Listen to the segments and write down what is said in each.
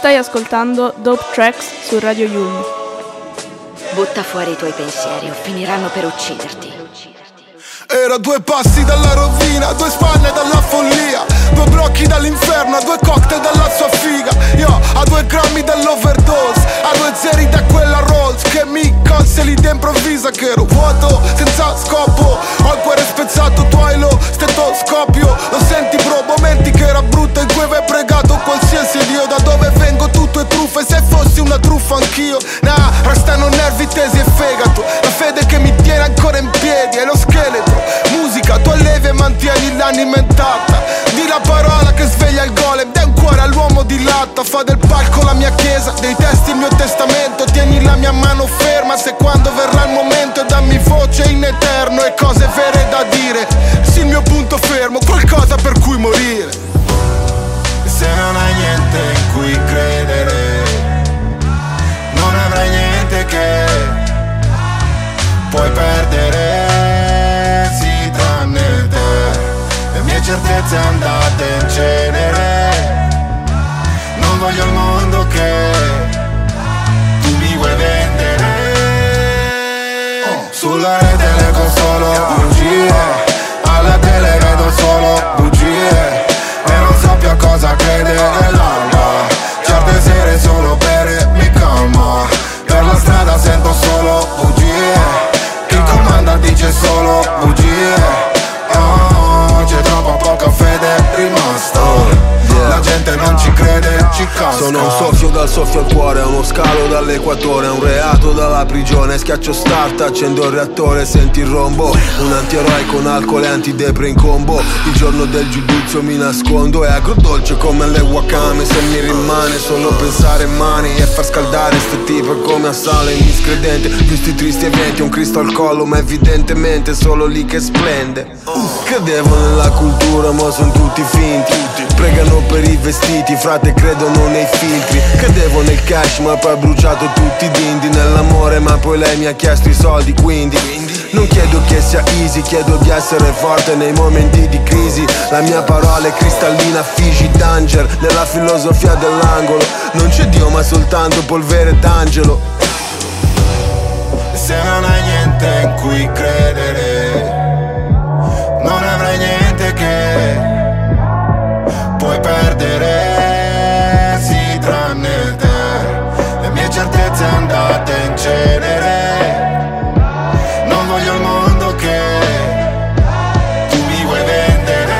Stai ascoltando Dope Tracks su Radio Yulm. Butta fuori i tuoi pensieri o finiranno per ucciderti. Era 2 passi dalla rovina, 2 spalle dalla follia, 2 blocchi dall'inferno, 2 cocktail dalla sua figa. Io a 2 grammi dall'overdose, a 2 zeri da quella Rolls che mi colse lì d'improvvisa, che ero vuoto, senza scopo. Ho il cuore spezzato, tu hai lo stetoscopio. Lo senti bro, momenti che era brutto in cui avevo pregato qualsiasi dio. Da dove vengo tutto è truffa, e se fossi una truffa anch'io. Nah, restano nervi tesi e fegato. La fede che mi tiene ancora in piedi è lo scheletro. Musica, tu allevi e mantieni l'anima intatta. Di la parola che sveglia il golem, dai un cuore all'uomo di latta. Fa del palco la mia chiesa, dei testi il mio testamento. Tieni la mia mano ferma se quando verrà il momento. E dammi voce in eterno e cose vere da dire. Sì, il mio punto fermo, qualcosa per cui morire. Se non hai niente in cui credere, non avrai niente che puoi perdere, sì, tranne te. Le mie certezze andate in cenere. Non voglio il mondo che tu mi vuoi vendere. Sulla rete leggo solo bugie, alla tele vedo solo bugie, e non so più a cosa credere. L'alba, certe sere solo bere mi calma. Per la strada sento solo bugie, il comanda dice solo bugie. Oh, c'è troppa poca fede rimasta. La gente non ci crede, ci casca. Sono un soffio dal soffio al cuore, uno scalo dall'equatore, un reato dalla prigione. Schiaccio start, accendo il reattore, senti il rombo. Un antieroe con alcol e antidepre in combo. Il giorno del giudizio mi nascondo, è agrodolce come le wakame. Se mi rimane solo pensare mani e far scaldare ste tipe come a sale miscredente. Visti tristi eventi, un Cristo al collo, ma evidentemente solo lì che splende. Credevo nella cultura, ma sono tutti finti. Pregano per i vestiti, frate credono nei filtri. Credevo nel cash ma poi ho bruciato tutti i dindi. Nell'amore ma poi lei mi ha chiesto i soldi, quindi non chiedo che sia easy, chiedo di essere forte nei momenti di crisi. La mia parola è cristallina, Fiji Danger. Nella filosofia dell'angolo non c'è Dio ma soltanto polvere d'angelo. Se non hai niente in cui credere, non avrai niente che puoi perdere, sì, tranne te. Le mie certezze andate in cenere. Non voglio il mondo che tu mi vuoi vendere.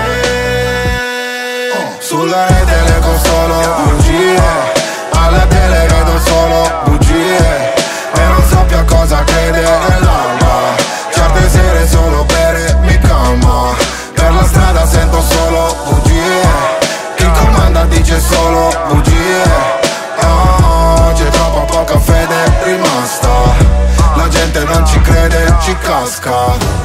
Sulla rete leggo solo bugie, alla tele vedo solo bugie, e non so più a cosa credere. L'alba, certe sere solo bere mi calma. Per la strada sento solo bugie, il comanda dice solo bugie. Oh, c'è troppa poca fede rimasta. La gente non ci crede, ci casca.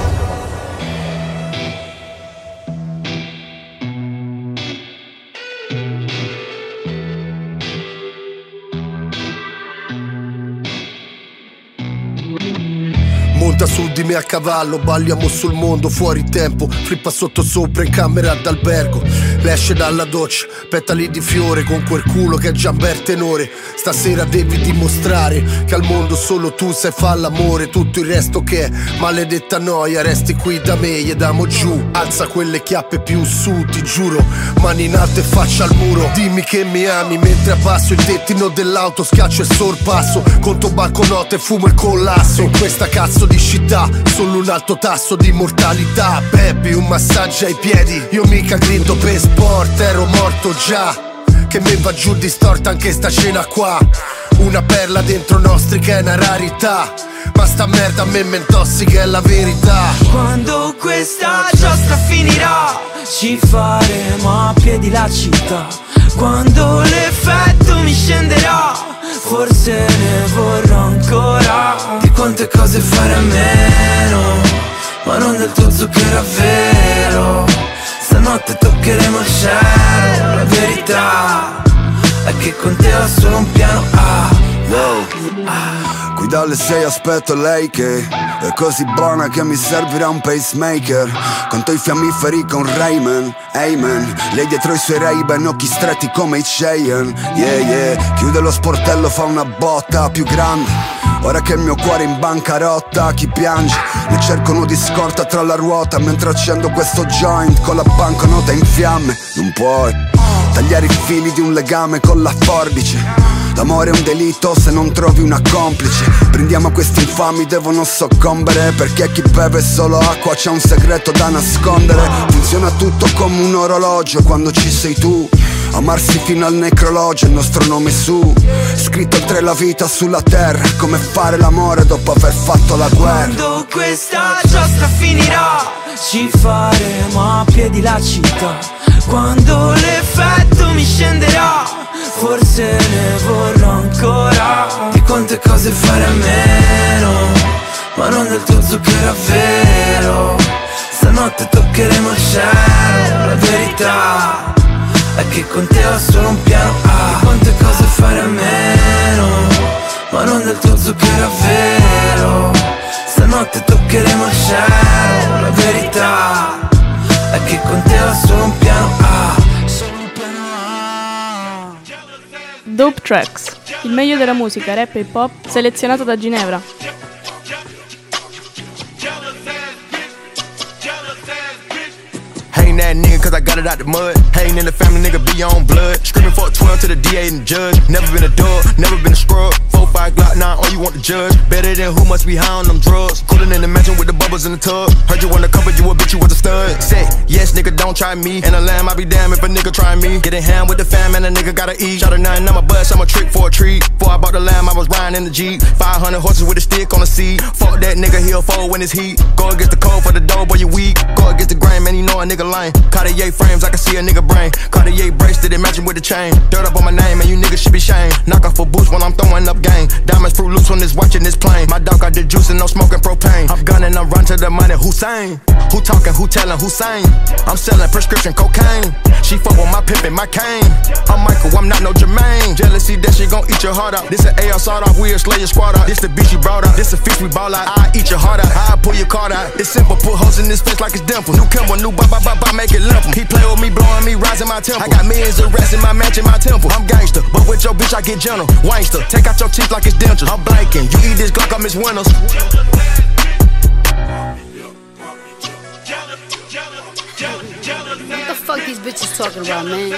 Monta su di me a cavallo, balliamo sul mondo, fuori tempo. Flippa sotto sopra in camera d'albergo. Lei esce dalla doccia, petali di fiore, con quel culo che è già un bel tenore. Stasera devi dimostrare che al mondo solo tu sai fa l'amore. Tutto il resto che è maledetta noia, resti qui da me e damo giù. Alza quelle chiappe più su, ti giuro, mani in alto e faccia al muro. Dimmi che mi ami mentre abbasso il tettino dell'auto, schiaccio e sorpasso. Conto banconote e fumo il collasso. In questa cazzo di città solo un alto tasso di mortalità. Baby, un massaggio ai piedi, io mica grido per sport, ero morto già. Che me va giù distorta anche sta cena qua. Una perla dentro nostri che è una rarità, ma sta merda a me mi intossica, è la verità. Quando questa giostra finirà, ci faremo a piedi la città. Quando l'effetto mi scenderà, forse ne vorrò ancora. Di quante cose fare a meno, ma non del tuo zucchero a vero. Stanotte toccheremo il cielo. La verità è che con te ho solo un piano A Qui dalle 6 aspetto lei che è così buona che mi servirà un pacemaker. Conto i fiammiferi con Rayman, amen. Lei dietro i suoi Ray-Ban, occhi stretti come i Cheyenne. Yeah, yeah, chiude lo sportello, fa una botta più grande. Ora che il mio cuore è in bancarotta, chi piange? Ne cerco uno di scorta tra la ruota mentre accendo questo joint con la banconota in fiamme. Non puoi tagliare i fili di un legame con la forbice. L'amore è un delitto se non trovi una complice. Brindiamo a questi infami, devono soccombere, perché chi beve solo acqua c'ha un segreto da nascondere. Funziona tutto come un orologio quando ci sei tu. Amarsi fino al necrologio, il nostro nome su. Scritto oltre la vita sulla terra, come fare l'amore dopo aver fatto la guerra. Quando questa giostra finirà, ci faremo a piedi la città. Quando l'effetto mi scenderà, forse ne vorrò ancora. Di quante cose fare a meno, ma non del tuo zucchero a vero. Stanotte toccheremo il cielo, la verità è che con te ho solo un piano A. Di quante cose fare a meno, ma non del tuo zucchero a vero. Stanotte toccheremo il cielo, la verità è che con te ho solo un piano A. Dope Tracks, il meglio della musica rap e hip hop selezionato da Ginevra. Hating that nigga cause I got it out the mud. Hating in the family, nigga be on blood. Screaming for a 12 to the DA and the judge. Never been a dog, never been a scrub. 4-5 Glock 9, all you want to judge. Better than who must be high on them drugs. Coolin' in the mansion with the bubbles in the tub. Heard you wanna cover, you a bitch, you was a stud. Say, yes nigga, don't try me. And a lamb, I be damn if a nigga try me. Getting hand with the fam and a nigga gotta eat. Shot a 9, I'm a bust, I'm a trick for a treat. Before I bought the lamb, I was riding in the Jeep. 500 horses with a stick on the seat. Fuck that nigga, he'll fold when it's heat. Go against the cold for the dough, boy, you weak. Go against the grain, man, you know a nigga lame. Cartier frames, I can see a nigga brain. Cartier bracelet, it matching with the chain. Dirt up on my name, and you niggas should be shamed. Knock off a boost when I'm throwing up game. Diamonds fruit loops when it's watching this plane. My dog got the juice and no smoking propane. I'm gunning, I'm run to the money. Hussein, who talking, who telling, who saying? I'm selling prescription cocaine. She fuck with my pimpin', my cane. I'm Michael, I'm not no Jermaine. Jealousy, that shit gon' eat your heart out. This an AR sawed off, we'll slay your squad out. This the bitch you brought out, this a fish we ball out. I eat your heart out, I pull your card out. It's simple, put holes in his face like it's dimple. New Kimber, new ba ba ba ba, make it limp. He play with me, blowing me, rising my temple. I got millions of rats in my mansion, my temple. I'm gangster, but with your bitch I get gentle. Wangster, take out your teeth like it's dentures. I'm blanking, you eat this Glock, I miss Winters. What the fuck these bitches talking about, man?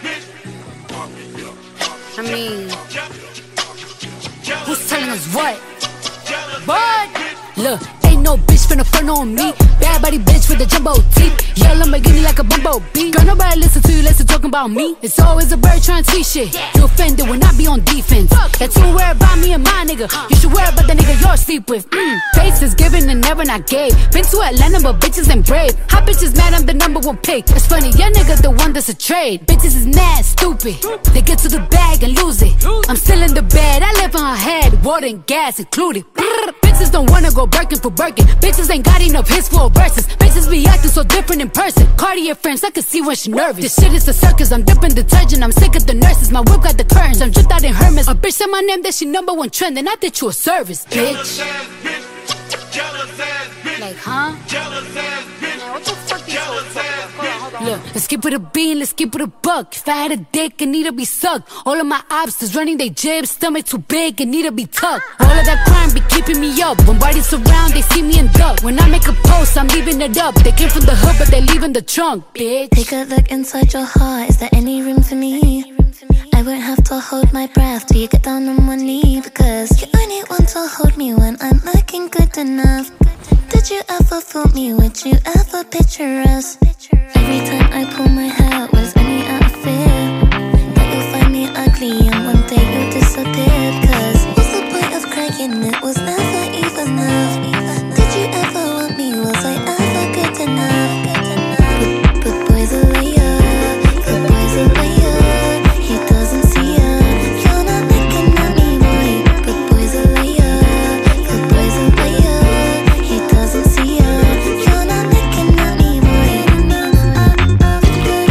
I mean, who's telling us what? What? Look, ain't no bitch finna front on me. Bad body bitch with the jumbo teeth. Yell Lamborghini like a bumblebee. Girl, nobody listen to you, listen talking about me. It's always a bird trying to teach shit. You offended when I be on defense. That's who worry about me and my nigga. You should worry about the nigga you're sleep with. Faces given and never not gave. Been to Atlanta but bitches ain't brave. Hot bitches mad I'm the #1 pick. It's funny, your nigga the one that's a trade. Bitches is mad, stupid. They get to the bag and lose it. I'm still in the bed, I live on her head. Water and gas included. Bitches don't wanna go Birkin for Birkin. Bitches ain't got enough hits for verses. Bitches be acting so different in person. Cartier frames, I can see when she nervous. This shit is a circus, I'm dipping detergent. I'm sick of the nurses, my whip got the curtains. I'm dripped out in Hermes. A bitch said my name, that she #1 trend. And I did you a service, bitch. Like, huh? Man, what the fuck these hoes talking about? Hold on. Look, let's keep it a bean, let's keep it a buck. If I had a dick, it need to be sucked. All of my obstacles running they jibs, stomach too big, it need to be tucked. All of that crime be keeping me up. When bodies surround, they see me in duck. When I make a post, I'm leaving it up. They came from the hood, but they leaving the trunk, bitch. Take a look inside your heart, is there any room for me? I won't have to hold my breath till you get down on one knee. Because you only want to hold me when I'm looking good enough. Did you ever fool me? Would you ever picture us? Every time I pull my hair, was only out of fear that you'll find me ugly and one day you'll disappear. Cause what's the point of crying? It was never even enough. Did you ever want me? Was I ever good enough? But boys are liar, good boys are liar. He doesn't see ya. You're not looking at me, boy. Good boys are liar, good boys are liar. He doesn't see ya. You're not looking at me, boy.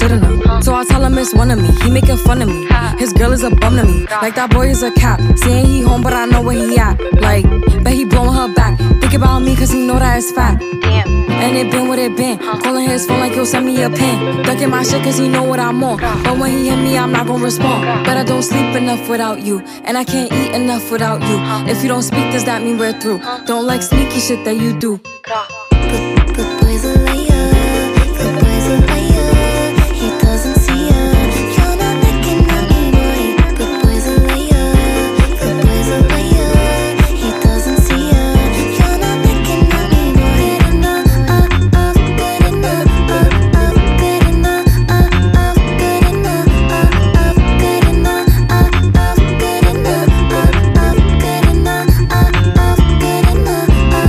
shouldn't have. So I tell him it's one of me, he making fun of me. His girl is a bum to me, like that boy is a cap. Saying he home but I know where he at. Like, bet he blowing her back. Think about me cause he know that it's fat. And it been what it been. Calling his phone like he'll send me a pin. Ducking my shit cause he know what I'm on. But when he hit me I'm not gonna respond. But I don't sleep enough without you, and I can't eat enough without you. If you don't speak, does that mean we're through? Don't like sneaky shit that you do. Good boy's a liar. Good boy's a liar. He doesn't see ya. You're not looking at me, boy. Good boy's a liar. Good boy's a liar. He doesn't see ya. You're not looking at me, boy. Good enough, good enough, good enough, good enough, good enough, good enough, good enough, good enough.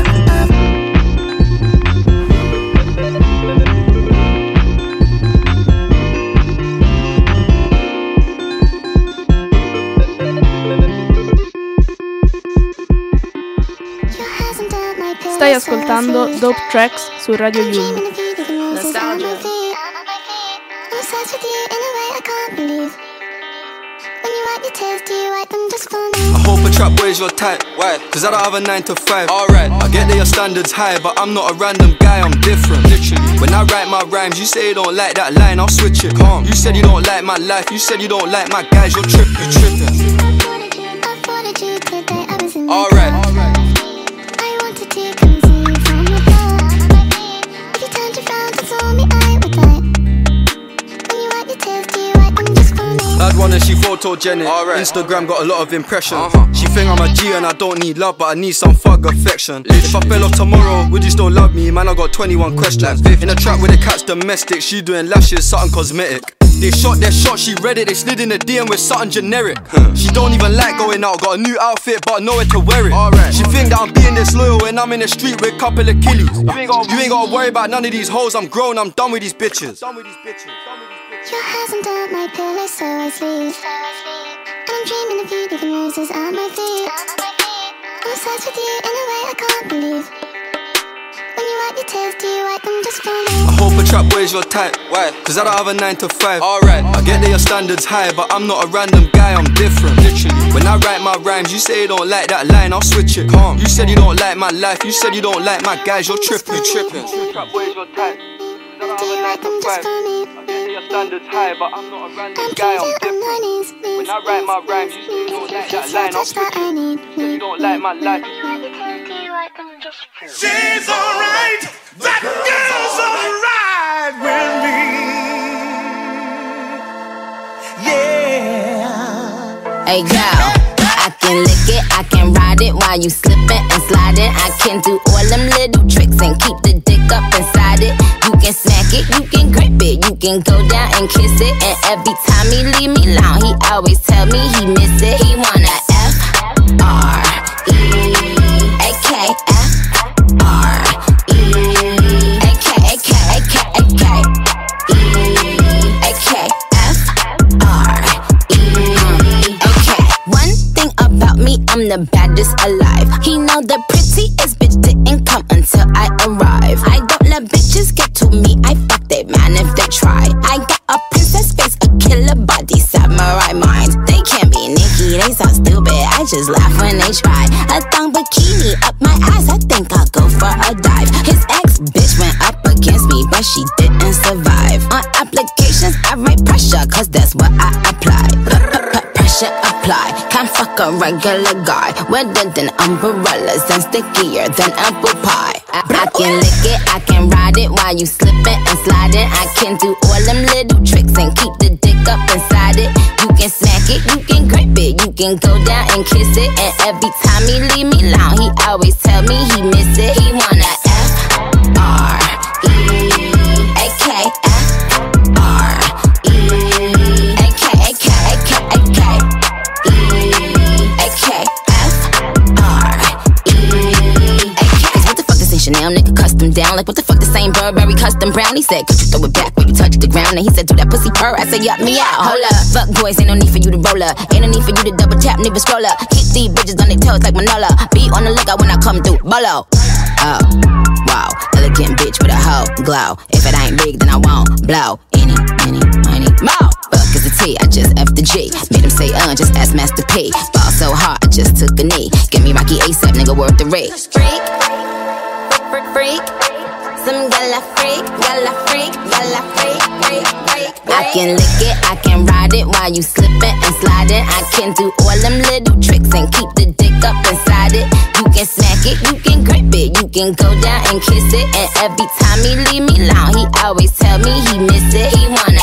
Stai ascoltando Dope Tracks su Radio Yulm. Nostalgia. I hope a trap boy's your type. Why? Cause I don't have a 9 to 5. Alright, I get that your standards high, but I'm not a random guy, I'm different. Literally. When I write my rhymes, you say you don't like that line, I'll switch it. Calm. You said you don't like my life, you said you don't like my guys, you're tripping. Alright. I'd wanna she photogenic. Instagram got a lot of impressions. She think I'm a G and I don't need love, but I need some thug affection. If I fell off tomorrow, would you still love me? Man, I got 21 questions. In a trap with a cat's domestic, she doing lashes, something cosmetic. They shot their shot, she read it, they slid in the DM with something generic. She don't even like going out, got a new outfit but nowhere to wear it. She think that I'm being disloyal when I'm in the street with a couple of killies. You ain't gotta worry about none of these hoes, I'm grown, I'm done with these bitches. Your hasn't done my pillow, so I sleep. And I'm dreaming of you, leaving roses at my feet. I'm obsessed with you in a way I can't believe. When you wipe your tears, do you wipe them just for me? I hope a trap boy's your type. Why? Cause I don't have a 9 to 5. Alright, I get that your standards high, but I'm not a random guy, I'm different. Literally. When I write my rhymes, you say you don't like that line, I'll switch it. Calm. You said you don't like my life, you said you don't like my guys, you're tripping. Trap boy's your type. Do you write them just for me? Your standards high, but I'm not a random guy, I'm different. When I write my rhymes, you say you don't like that line, I'll switch it. You say you don't like my life. She's alright, that girl's alright with me. Yeah. Hey girl, I can lick it, I can ride it while you slipping and sliding. I can do all them little tricks and keep the dick up inside it. You can smack it, you can grip it, you can go down and kiss it. And every time he leave me alone, he always tell me he miss it. He wanna I'm the baddest alive. He know the prettiest bitch didn't come until I arrive. I don't let bitches get to me, I fuck they man if they try. I got a princess face, a killer body, samurai mind. They can't be Nicki, they so stupid, I just laugh when they try. A thong bikini up my ass, I think I'll go for a dive. His ex bitch went up against me, but she didn't survive. On applications I write pressure, cause that's what I apply. Pressure apply, can't fuck a regular guy. Wetter than umbrellas and stickier than apple pie. I can lick it, I can ride it while you slipping and sliding. I can do all them little tricks and keep the dick up inside it. You can smack it, you can grip it, you can go down and kiss it. And every time he leave me alone, he always tell me he miss it. He wanna Chanel, nigga custom down. Like what the fuck, the same Burberry custom brown. He said, could you throw it back when you touch the ground? And he said, do that pussy purr. I said, yup, me out, hold up. Fuck boys, ain't no need for you to roll up. Ain't no need for you to double tap, nigga scroll up. Keep these bitches on their toes like Manola. Be on the lookout when I come through, bolo. Oh, wow, elegant bitch with a hoe glow. If it ain't big, then I won't blow. Any Mo. Fuck is the T, I just F the G. Made him say just ask Master P. Ball so hard, I just took a knee. Give me Rocky ASAP, nigga, worth the rate. Freak, freak, some gala freak, gala freak, gala freak, freak, freak. I can lick it, I can ride it while you slipping and sliding. I can do all them little tricks and keep the dick up inside it. You can smack it, you can grip it, you can go down and kiss it. And every time he leave me alone, he always tell me he miss it. He wanna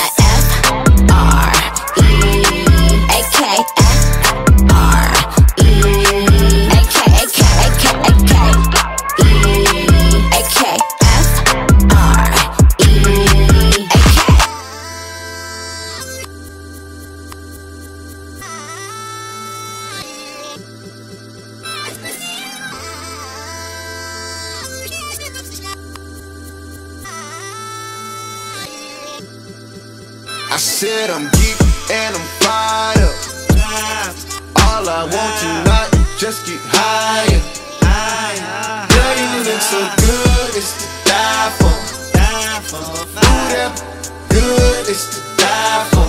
I said I'm geek and I'm fired up. All I want tonight is just get higher. Girl, you look so good, it's to die for. Ooh, that good, it's to die for.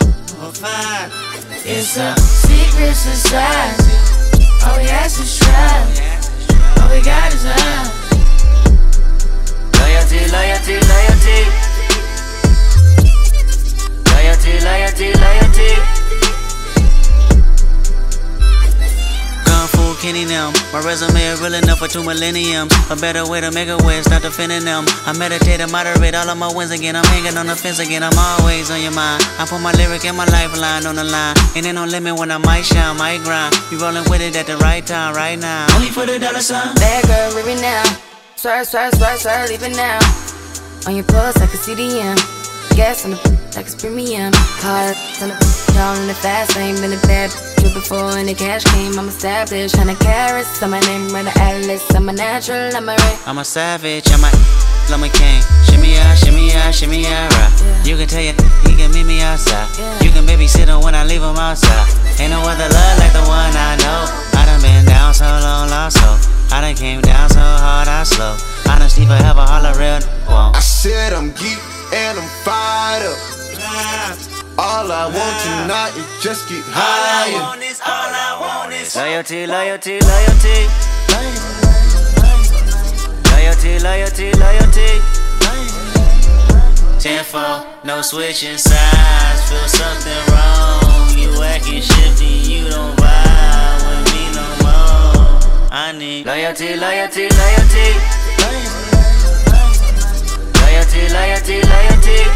It's a secret society. All we ask is trust. All we got is love. Loyalty, loyalty, loyalty. Loyalty, loyalty, loyalty. Kung Fu Kenny now. My resume is real enough for 2 millenniums. A better way to make a way, start defending them. I meditate and moderate all of my wins again. I'm hanging on the fence again, I'm always on your mind. I put my lyric and my lifeline on the line. Ain't no limit when I might shine, might grind. You rolling with it at the right time, right now. Only for the dollar sign. Bad girl, leave it now. Swear, swear, swear, swear, leave it now. On your pulse, I can see the M. Gas on the like it's premium. Hard on the down in the fast lane. Been a bad bitch before when the cash came. I'm established, 100 carats. I'm my name, run the atlas. I'm a natural, I'm a ray. I'm a savage, I'm a king. Shimmy out, shimmy out, shimmy out, right. You can tell you, he can meet me outside. You can babysit him when I leave him outside. Ain't no other love like the one I know. I done been down so long, lost so. I done came down so hard, I slow. Honesty forever, all a real won't. I said I'm geek and I'm fired up. All I want tonight is just get higher. All I want is loyalty, loyalty, loyalty. Loyalty, loyalty, loyalty. 10-4, no switching sides. Feel something wrong. You acting shifty, you don't vibe with me no more. I need loyalty, loyalty, loyalty. Loyalty, loyalty, loyalty.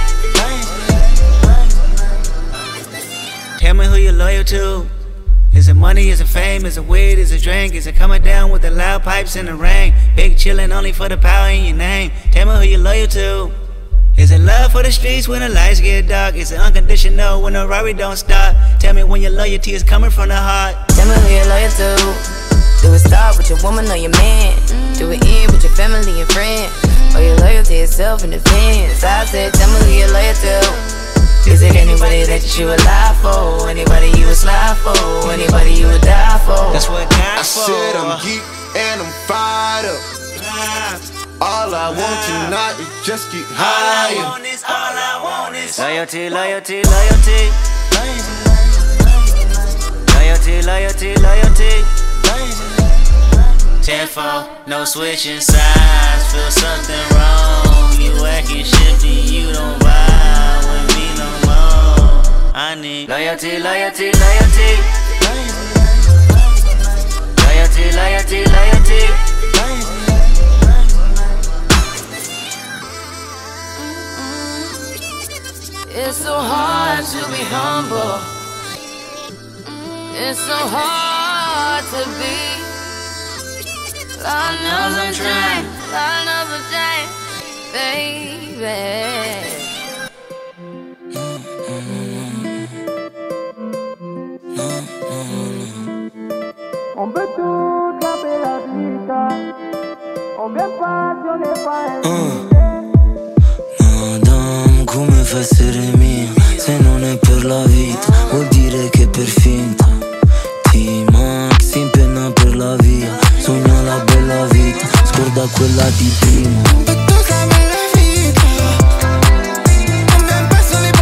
Tell me who you're loyal to. Is it money, is it fame, is it weed, is it drink? Is it coming down with the loud pipes in the rain? Big chillin' only for the power in your name. Tell me who you're loyal to. Is it love for the streets when the lights get dark? Is it unconditional when the Rari don't stop? Tell me when your loyalty is coming from the heart. Tell me who you're loyal to. Do it start with your woman or your man? Do it end with your family and friends? Or your loyalty is self-in-defense? I said, tell me who you're loyal to. Is it anybody that you would lie for? Anybody you would slide for? Anybody you would die for? That's what I said I'm geek and I'm fired up. All I want tonight is just get higher. All I want is loyalty, loyalty, loyalty. Loyalty, loyalty, loyalty. 10-4, no switching sides. Feel something wrong. You acting shifty, you don't vibe with me no more. I need loyalty, loyalty, loyalty. Loyalty, loyalty, loyalty. It's so hard to be humble. It's so hard to be. Lord knows I'm trying. Lord knows I'm trying, baby. On veut toute la bella vita. On vient passionné par Madame, come fa a essere mia? Se non è per la vita, vuol dire che è per finta. T-Max si impenna per la via. Sogna la bella vita, scorda quella di prima. Un petto la bella vita. Non mi passo le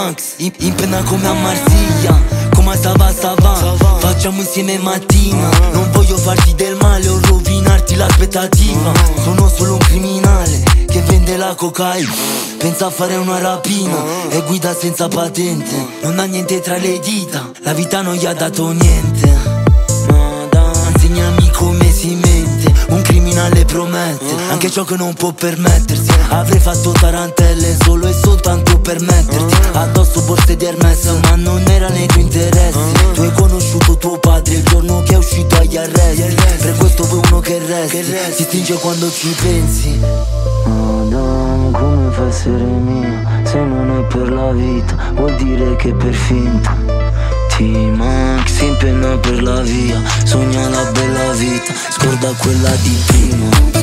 T-Max, in penna come a Marsiglia. Come stava, facciamo insieme mattina. Non voglio farti del male o rovinarti l'aspettativa. Sono solo un criminale che vende la cocaina. Pensa a fare una rapina e guida senza patente. Non ha niente tra le dita, la vita non gli ha dato niente. Insegnami come si mente, un criminale promette anche ciò che non può permettersi. Avrei fatto tarantelle solo e soltanto per metterti addosso borse di Hermes, ma non era nei tuoi interessi. Tu hai conosciuto tuo padre il giorno che è uscito agli arresti. Per questo vuoi uno che resti, si stringe quando ci pensi. Madame, come fa a essere mia se non è per la vita? Vuol dire che per finta. T-Max si impenna per la via, sogna la bella vita, scorda quella di prima.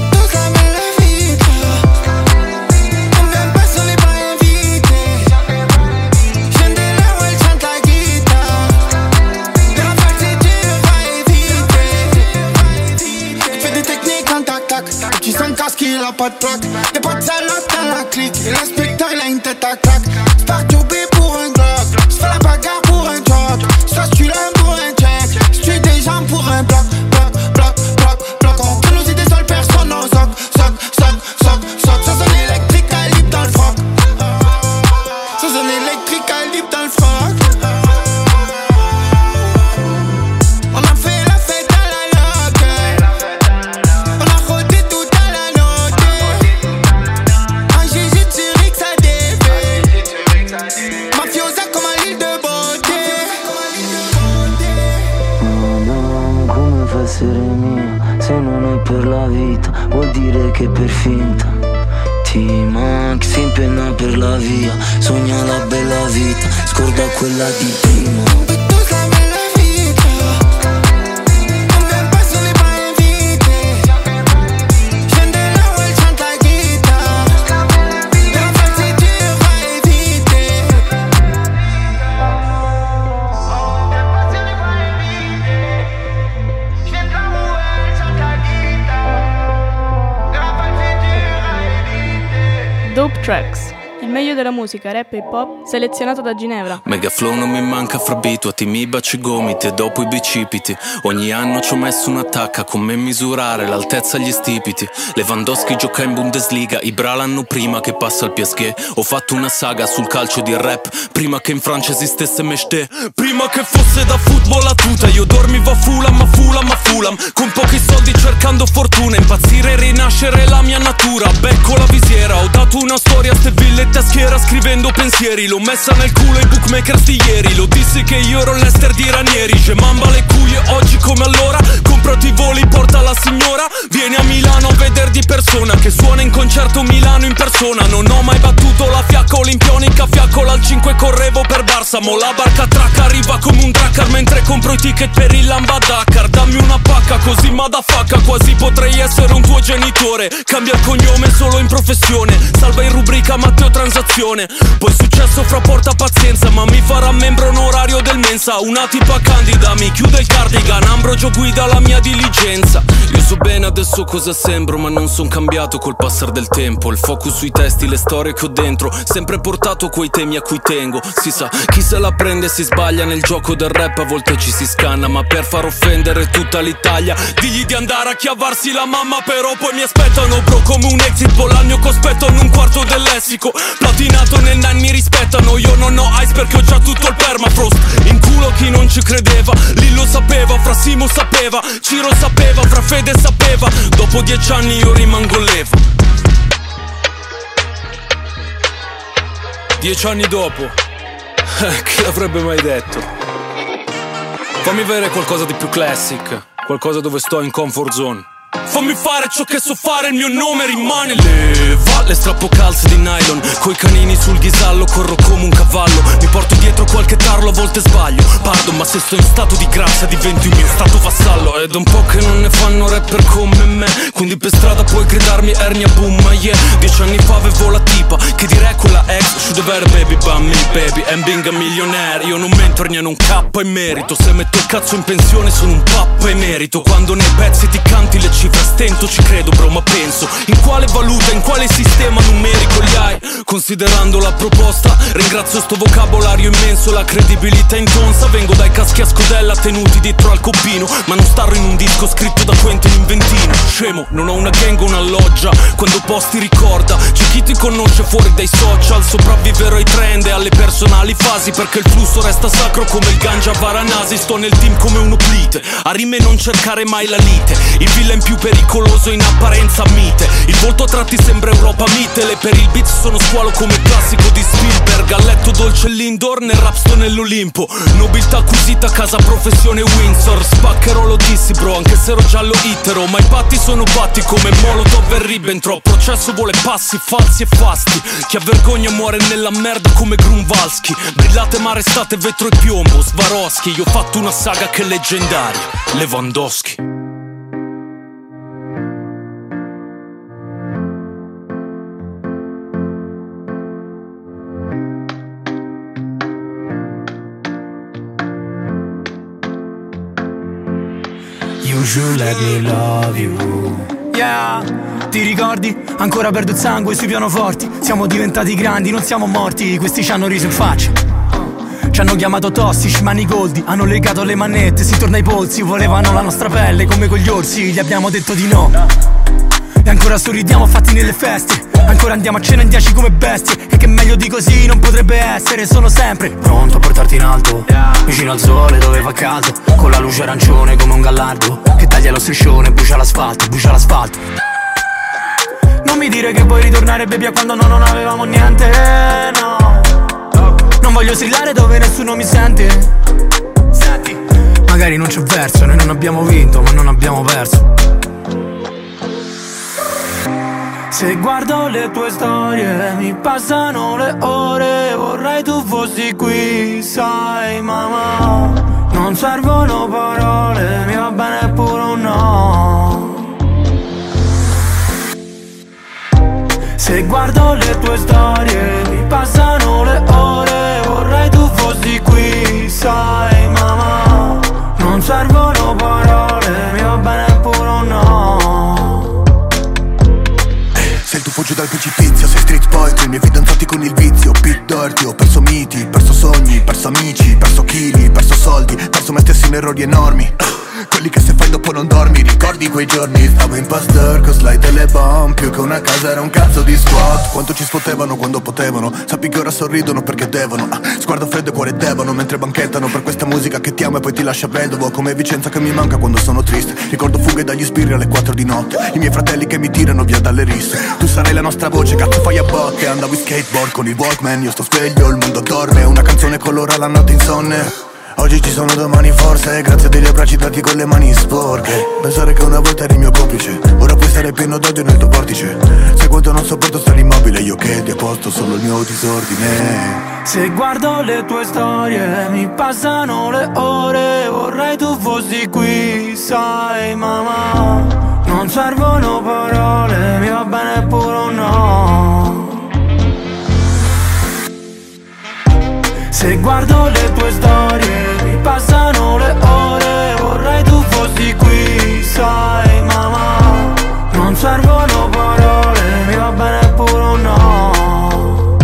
Il a pas de plaque, y'a pas de salope dans la clique. Et l'inspecteur il a une tête à claque. Spartubé pour un Glock, j'fais la bagarre pour un job. Soit tu l'aimes pour un check, j'tue des gens pour un bloc. Entre nous et des seules personnes, on soc. Ça sonne électrique à libre dans le froc. Ça sonne électrique à libre dans le froc. On a fait la fête à la loque. On a rodé tout à la note. Un GG de Zurich ça défait. Mafiosa comme à l'île de beauté. Madame, come fa a essere mia se non è per la vita? Vuol dire che per finta. T-Max si impenna per la via, sogna la bella vita, scorda quella di prima. Dope Tracks, il meglio della musica rap e hip hop selezionato da Ginevra. Megaflow non mi manca fra abituati, mi baci i gomiti e dopo i bicipiti. Ogni anno ci ho messo un'attacca, come misurare l'altezza agli stipiti. Lewandowski gioca in Bundesliga, Ibra l'anno prima che passa al PSG. Ho fatto una saga sul calcio di rap, prima che in Francia esistesse Meshte. Prima che fosse da football a tuta, io dormivo a Fulham, con pochi soldi cercando fortuna. Impazzire e rinascere la mia natura, becco la visiera. Ho dato una storia a ste villette a schiera, scrivendo pensieri. L'ho messa nel culo ai bookmakers di ieri. Lo dissi che io ero l'Ester di Ranieri. Gemamba le cuie oggi come allora. Comprati i voli, porta la signora. Vieni a Milano a veder di persona, che suona in concerto Milano in persona. Non ho mai battuto la fiacca olimpionica, fiaccola al 5 correvo per Barça. Mo la barca tracca arriva come un dracar mentre compro i ticket per il Lamba Dakar. Dammi una pacca così madafacca, quasi potrei essere un tuo genitore. Cambia il cognome solo in professione, salva in rubrica Matteo Transazione. Poi successo fra porta pazienza, ma mi farà membro onorario del Mensa. Una tipa candida mi chiude il cardigan, Ambrogio guida la mia diligenza. Io so bene adesso cosa sembro, ma non son cambiato col passare del tempo. Il focus sui testi, le storie che ho dentro, sempre portato quei temi a cui tengo. Si sa, chi se la prende si sbaglia nel gioco del rap, a volte ci si scanna, ma per far offendere tutta l'Italia digli di andare a chiavarsi la mamma. Però poi mi aspettano bro come un exit poll al mio cospetto, hanno un quarto del lessico. Platinato nel nine mi rispettano, io non ho ice perché ho già tutto il permafrost. In culo chi non ci credeva, Lillo sapeva, fra Simo sapeva, Ciro sapeva, fra Fede sapeva. Dopo 10 anni io rimango levo. 10 anni dopo, chi l'avrebbe mai detto? Fammi vedere qualcosa di più classic, qualcosa dove sto in comfort zone. Fammi fare ciò che so fare, il mio nome rimane Leva. Le strappo calze di nylon, coi canini sul ghisallo, corro come un cavallo. Mi porto dietro qualche tarlo, a volte sbaglio. Pardon, ma se sto in stato di grazia diventi un mio stato vassallo. Ed è un po' che non ne fanno rapper come me, quindi per strada puoi gridarmi ernia boom, ma yeah. 10 anni fa avevo la tipa, che direi quella ex should have had a baby by me, baby, and being a millionaire. Io non mentor niente, un K in merito. Se metto il cazzo in pensione sono un pappa emerito. Quando nei pezzi ti canti le cifre, stento ci credo bro, ma penso in quale valuta, in quale sistema numerico li hai. Considerando la proposta, ringrazio sto vocabolario immenso, la credibilità intonsa. Vengo dai caschi a scodella tenuti dietro al coppino, ma non starro in un disco scritto da Quentin Inventino. Scemo, non ho una gang o una loggia, quando posti ricorda, c'è chi ti conosce fuori dai social. Sopravviverò ai trend e alle personali fasi, perché il flusso resta sacro come il ganja a Varanasi. Sto nel team come un oplite, a rime non cercare mai la lite. Il villain più pericoloso in apparenza mite, il volto a tratti sembra Europa Mitele. Per il beat sono squalo come il classico di Spielberg. A letto dolce l'indoor, nel rap sto nell'Olimpo. Nobiltà acquisita, casa professione Windsor. Spaccherò lo dissi bro, anche se ero giallo itero. Ma i patti sono patti come Molotov e Ribbentrop. Processo vuole passi falsi e fasti, chi ha vergogna muore nella merda come Grunwalski. Brillate ma restate vetro e piombo, Swarovski. Io ho fatto una saga che è leggendaria, Lewandowski. You should let me love you. Yeah, ti ricordi? Ancora perdo il sangue sui pianoforti. Siamo diventati grandi, non siamo morti. Questi ci hanno riso in faccia, ci hanno chiamato tossici, manigoldi. Hanno legato le manette, si torna ai polsi. Volevano la nostra pelle come con gli orsi. Gli abbiamo detto di no. E ancora sorridiamo fatti nelle feste. Ancora andiamo a cena in 10 come bestie. E che meglio di così non potrebbe essere. Sono sempre pronto a portarti in alto, vicino al sole dove fa caldo, con la luce arancione come un gallardo che taglia lo striscione, brucia l'asfalto, brucia l'asfalto. Non mi dire che vuoi ritornare baby a quando non avevamo niente, no. Non voglio strillare dove nessuno mi sente. Senti, magari non c'è verso, noi non abbiamo vinto ma non abbiamo perso. Se guardo le tue storie mi passano le ore. Vorrei tu fossi qui, sai mamma. Non servono parole, mi va bene pure un no. Se guardo le tue storie mi passano le ore. Vorrei tu fossi qui, sai mamma. Non servono parole, mi va bene pure un no. Se il tuo fuggi dal precipizio, sei street poetry, i miei fidanzati con il vizio. Pit dirty, ho perso miti, perso sogni, perso amici, perso chili, perso soldi, perso me stesso in errori enormi. Quelli che se fai dopo non dormi, ricordi quei giorni? Stavo in pastor con slide e le bomb, più che una casa era un cazzo di squat. Quanto ci sfottevano quando potevano, sappi che ora sorridono perché devono. Sguardo freddo e cuore devono, mentre banchettano per questa musica che ti ama e poi ti lascia vedovo. Come Vicenza che mi manca quando sono triste, ricordo fughe dagli sbirri alle 4 di notte, i miei fratelli che mi tirano via dalle risse. Tu sarai la nostra voce, cazzo fai a botte. Andavo in skateboard con il Walkman, io sto sveglio, il mondo dorme. Una canzone colora la notte insonne. Oggi ci sono, domani forse, grazie degli abbracci dati con le mani sporche. Pensare che una volta eri mio complice, ora puoi stare pieno d'odio nel tuo vortice. Sai quanto non sopporto stare immobile, io che ti ho posto solo il mio disordine. Se guardo le tue storie mi passano le ore. Vorrei tu fossi qui, sai mamma. Non servono parole, mi va bene pure un no. Se guardo le tue storie mi passano le ore. Vorrei tu fossi qui, sai mamma. Non servono parole, mi va bene pure un no.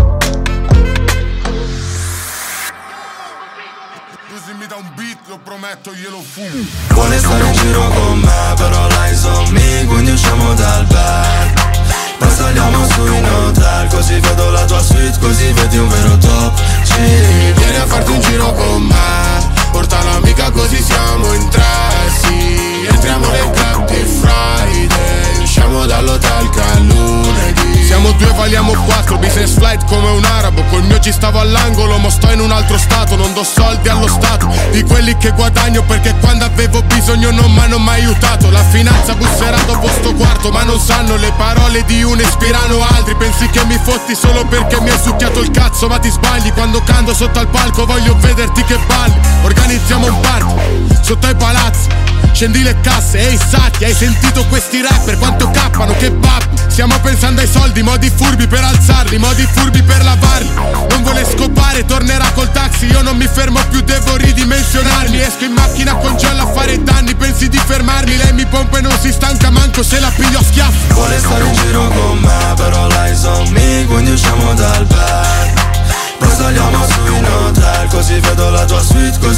Se mi dà un beat lo prometto glielo fumo. Vuole stare in giro con me, però lei son me, quindi usciamo dal bar. Poi saliamo su in hotel, così vedo la tua suite, così vedi un vero top G. Vieni a farti un giro con me, porta l'amica così siamo in tre, sì. Entriamo nel club di Friday, usciamo dall'hotel che è lunedì. Siamo due, valiamo quattro, business flight come un arabo. Col mio G stavo all'angolo, mo sto in un altro stato. Non do soldi allo Stato, di quelli che guadagno, perché quando avevo bisogno non mi hanno mai aiutato. La finanza busserà dopo sto quarto, ma non sanno le parole di uno ispirano altri. Pensi che mi fotti solo perché mi hai succhiato il cazzo, ma ti sbagli. Quando canto sotto al palco voglio vederti che balli. Organizziamo un party sotto ai palazzi, scendi le casse e i sacchi. Hai sentito questi rapper quanto cappano, che babbi. Stiamo pensando ai soldi, modi furbi per alzarli, modi furbi per lavarli. Non vuole scopare, tornerà col taxi. Io non mi fermo più, devo ridimensionarmi. Esco in macchina con Gialla a fare danni, pensi di fermarmi. Lei mi pompa e non si stanca manco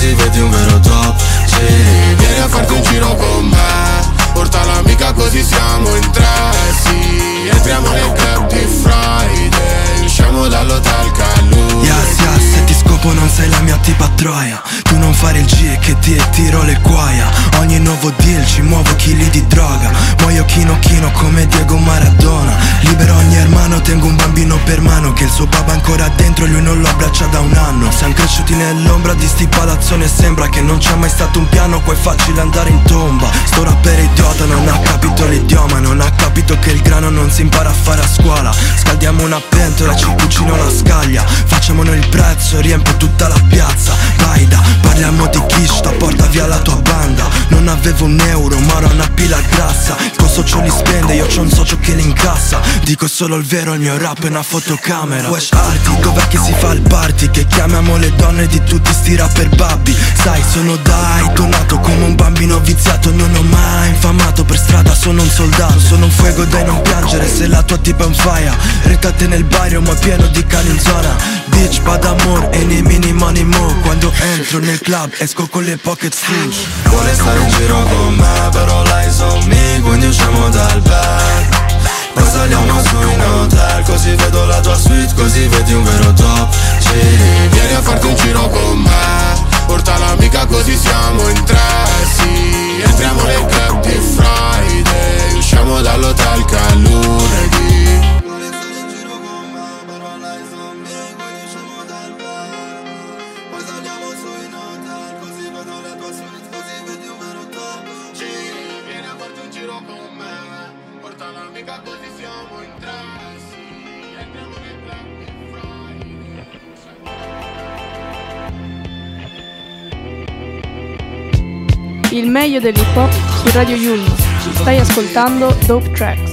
così vedi un vero top. Sì, vieni a farti un giro con me, porta l'amica così siamo in tre. Sì, entriamo nel club di Friday, usciamo dall'hotel Calù. Yes, yes, se ti scopo non sei la mia tipa troia. Tu non fare il G che ti tiro le cuoia. Ogni nuovo deal ci muovo chili di droga. Muoio chino chino come Diego Maradona. Libero ogni hermano, tengo un bambino per mano che il suo papà ancora dentro e lui non lo abbraccia da un anno. Siamo cresciuti nell'ombra di sti palazzoni e sembra che non c'è mai stato un piano, qua è facile andare in tomba. Sto rapper idiota non ha capito l'idioma, non ha capito che il grano non si impara a fare a scuola. Scaldiamo una pentola, ci cucino la scaglia, facciamo noi il prezzo, riempio tutta la piazza. Vaida, parliamo di Kishta, porta via la tua banda. Non avevo un euro ma ora una pila grassa. Il tuo socio li spende, io c'ho un socio che li incassa. Dico solo il vero, il mio rap è una fotocamera. Wesh Arti, dov'è che si fa il party? Che chiamiamo le donne di tutti sti rapper babbi. Sai, sono nato come un bambino viziato. Non ho mai infamato per strada, sono un soldato. Sono un fuego dai non piangere se la tua tipa è un fire. Retate nel barrio ma pieno di cani in zona. Bitch, bad amor e nei mini money mo. Quando entro nel club esco con le pocket full. Vuole stare in giro con me, però lei son me, quindi usciamo dal bar. Poi saliamo su in hotel, così vedo la tua suite, così vedi un vero top. Sì, vieni a farti un giro con me, porta l'amica così siamo in tre. Sì, entriamo nel club di Friday, usciamo dall'hotel Calù. Il meglio dell'hip hop su Radio Yulm. Stai ascoltando Dope Tracks.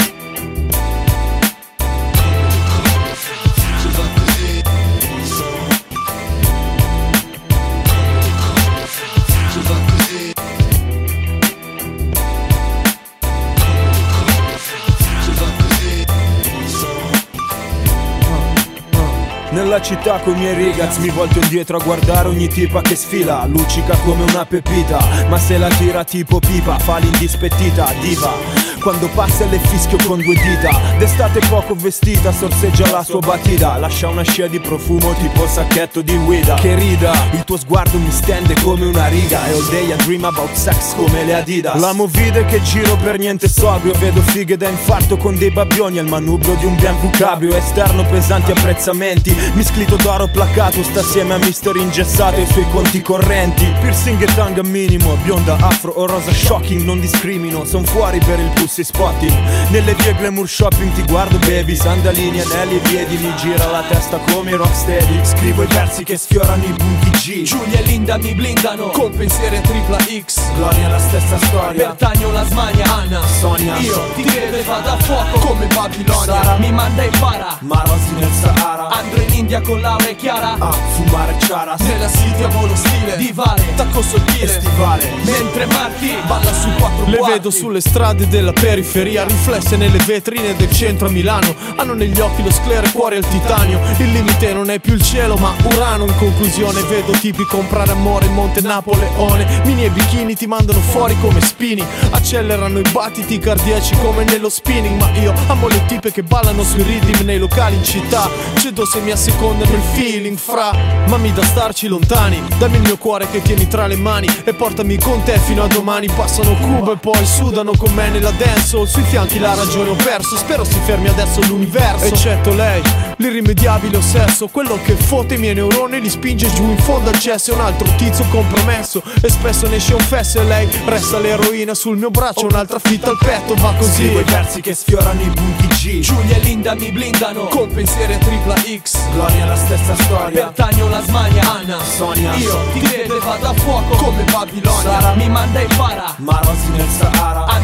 Nella città coi miei ragazzi mi volto indietro a guardare ogni tipa che sfila. Luccica come una pepita, ma se la tira tipo pipa fa l'indispettita diva. Quando passa le fischio con due dita. D'estate poco vestita, sorseggia la sua batida. Lascia una scia di profumo tipo sacchetto di guida. Che rida, il tuo sguardo mi stende come una riga. E all day I dream about sex come le Adidas. La movida che giro per niente sobrio. Vedo fighe da infarto con dei babbioni al manubrio di un bianco cabrio. Esterno pesanti apprezzamenti, misclito d'oro placato. Sta assieme a mister ingessato e i suoi conti correnti. Piercing e tanga minimo, bionda, afro o rosa shocking. Non discrimino, son fuori per il pussy spotting. Nelle vie glamour shopping ti guardo baby. Sandalini, anelli e piedi, mi gira la testa come rocksteady. Scrivo i versi che sfiorano i punti G. Giulia e Linda mi blindano con pensieri tripla X. Gloria la stessa storia, Bertagno la smania, Anna, Sonia. Io ti credo e vado a fuoco come Babilonia. Sara mi manda e para, Marosi nel Sahara. andrò in India con Laura e Chiara a fumare charas. Nella city a volo stile Divale, tacco sottile stivale. Mentre Marti balla su quattro Le quarti. vedo sulle strade della periferia, riflesse nelle vetrine del centro a Milano. Hanno negli occhi lo sclero, cuore al titanio. Il limite non è più il cielo ma Urano. In conclusione vedo tipi comprare amore in Monte Napoleone. Mini e bikini ti mandano fuori come spini. Accelerano i battiti cardiaci come nello spinning. Ma io amo le tipe che ballano sui rhythm nei locali in città. Cedo se mi assecondano il feeling fra. Ma mi da starci lontani. Dammi il mio cuore che tieni tra le mani e portami con te fino a domani. Passano Cuba e poi sudano con me nella dancehall. Sui fianchi la ragione ho perso, spero si fermi adesso l'universo. Eccetto lei, l'irrimediabile ossesso. Quello che fotte i miei neuroni li spinge giù in fondo al cesso. È un altro tizio compromesso e spesso ne esce un fesso. E lei resta l'eroina sul mio braccio, un'altra fitta al petto. Va così, scrivo i versi che sfiorano i punti G. Giulia e Linda mi blindano con pensieri tripla X. Gloria la stessa storia, Bertagno la smania, Anna, Sonia. Io ti credo e vado a fuoco come Babilonia. Sara mi manda e para, Marosi nel Sahara. andrò in India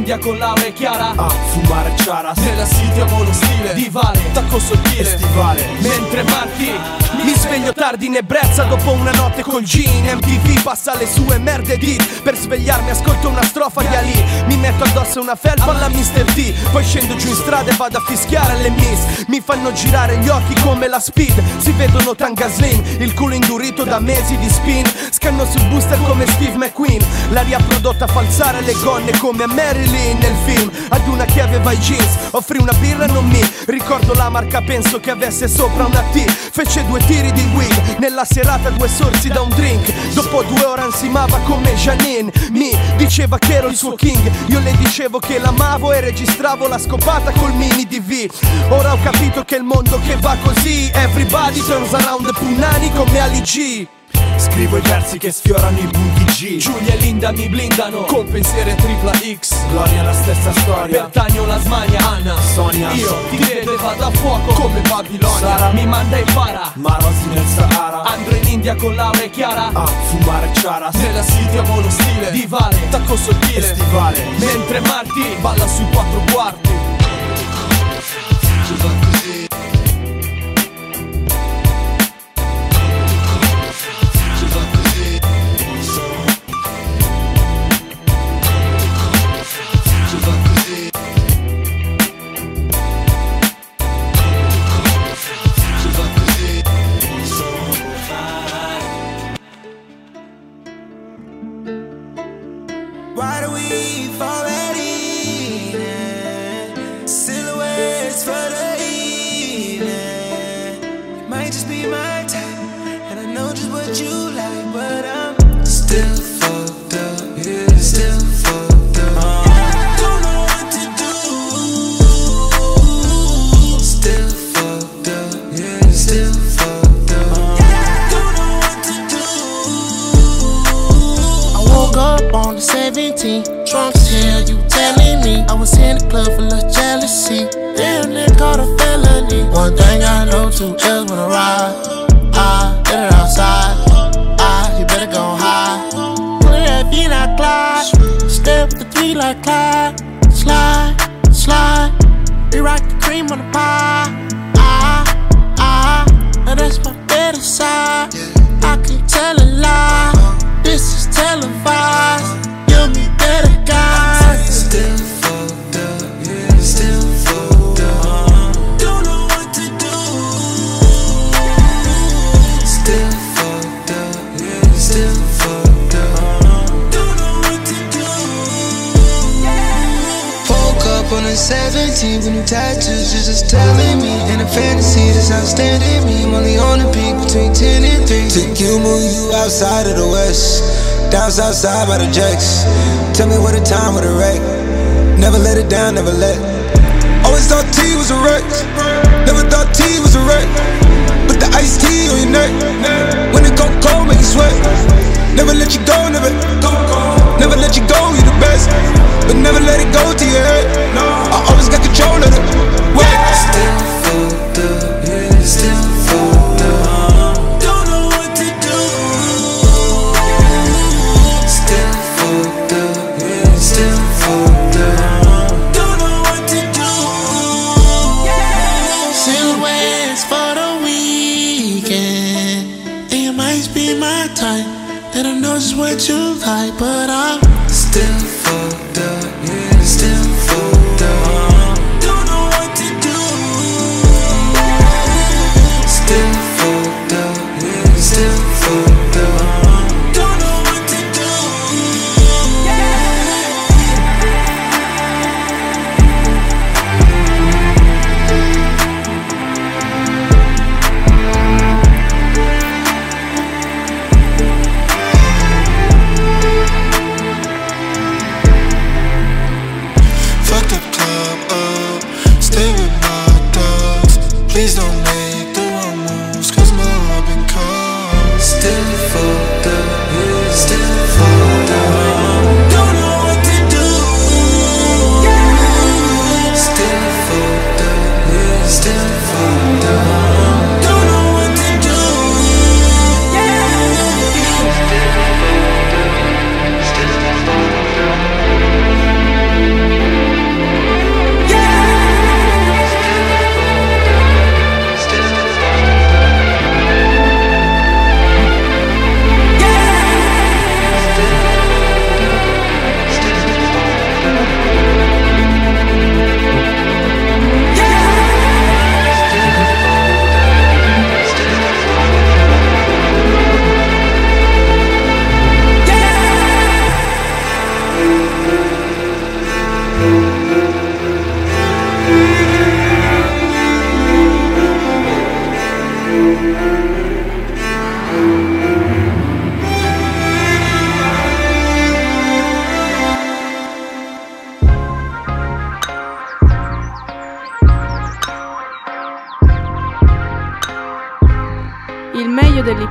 India con Laura e Chiara a fumare charas. Nella city amo lo stile di Vale, tacco sottile, stivale. Mentre Marti mi sveglio tardi in ebbrezza dopo una notte col gin. MTV passa le sue merde dit. Per svegliarmi ascolto una strofa di Ali. Mi metto addosso una felpa alla Mr. D. Poi scendo giù in strada e vado a fischiare alle miss. Mi fanno girare gli occhi come la speed. Si vedono tanga slim, il culo indurito da mesi di spin. Scanno sul booster come Steve McQueen. L'aria prodotta a falsare le gonne come a Marilyn nel film. Ad una che aveva i jeans offrì una birra e non mi ricordo la marca, penso che avesse sopra una T. Fece 2 tiri di wig, nella serata 2 sorsi da un drink. Dopo 2 ore ansimava come Janine. Mi diceva che ero il suo king, io le dicevo che l'amavo e registravo la scopata col mini DV. Ora ho capito che il mondo che va così, everybody turns around the punani come Ali G. Scrivo i versi che sfiorano i punti G. Giulia e Linda mi blindano col pensiero tripla X. Gloria la stessa storia, Bertagno la smania, Anna, Sonia. Io ti vedo e vado a fuoco come Babilonia. Sara mi manda e para, Marosi nel Sahara. Andro in India con Laura e Chiara a fumare charas. Nella city amo lo stile di Vale, tacco sottile, stivale. Mentre Marti balla sui 4 quarti. Ci fa così. Why do we fall at evening? Silhouettes for the evening. It might just be my type, and I know just what you like, but I'm still fucked up, yeah, still fucked up. Don't know what to do. Still fucked up, yeah, still fucked up. Don't know what to do. I woke up on the 17th, drunk as hell, you telling me I was in the club full of jealousy. Damn, they caught a felony. One thing I know, 2 else wanna ride. Get it outside. You better go high. Put that feet like Clyde. Step with the 3 like Clyde. Slide, slide. We rock the cream on the pie. Now that's my better side. I can tell a lie. This is televised. Give me better guys. Still fucked up, yeah, still fucked up. Don't know what to do. Still fucked up, yeah, still fucked up. Don't know what to do. Woke up on the 17th with new tattoos, just telling me. In a fantasy that's outstanding me. I'm only on the peak between 10 and 3. Took you, move you outside of the west. Down south side by the jacks. Tell me what a time with a wreck. Never let it down, never let. Always thought T was a wreck. Never thought T was a wreck. Put the iced tea on your neck. When it go cold, make you sweat. Never let you go, never. Never let you go, you the best. But never let it go to your head. I always got control of it. Still fucked up, yeah, still fucked up. Don't know what to do. Still fucked up, yeah, still fucked up. Don't know what to do. Silhouettes for the weekend. And you might be my type. That I know just what you like, but I'm still fucked up, yeah, still fucked up. Don't know what to do. Still fucked up, yeah, still fucked up. Don't know what to do.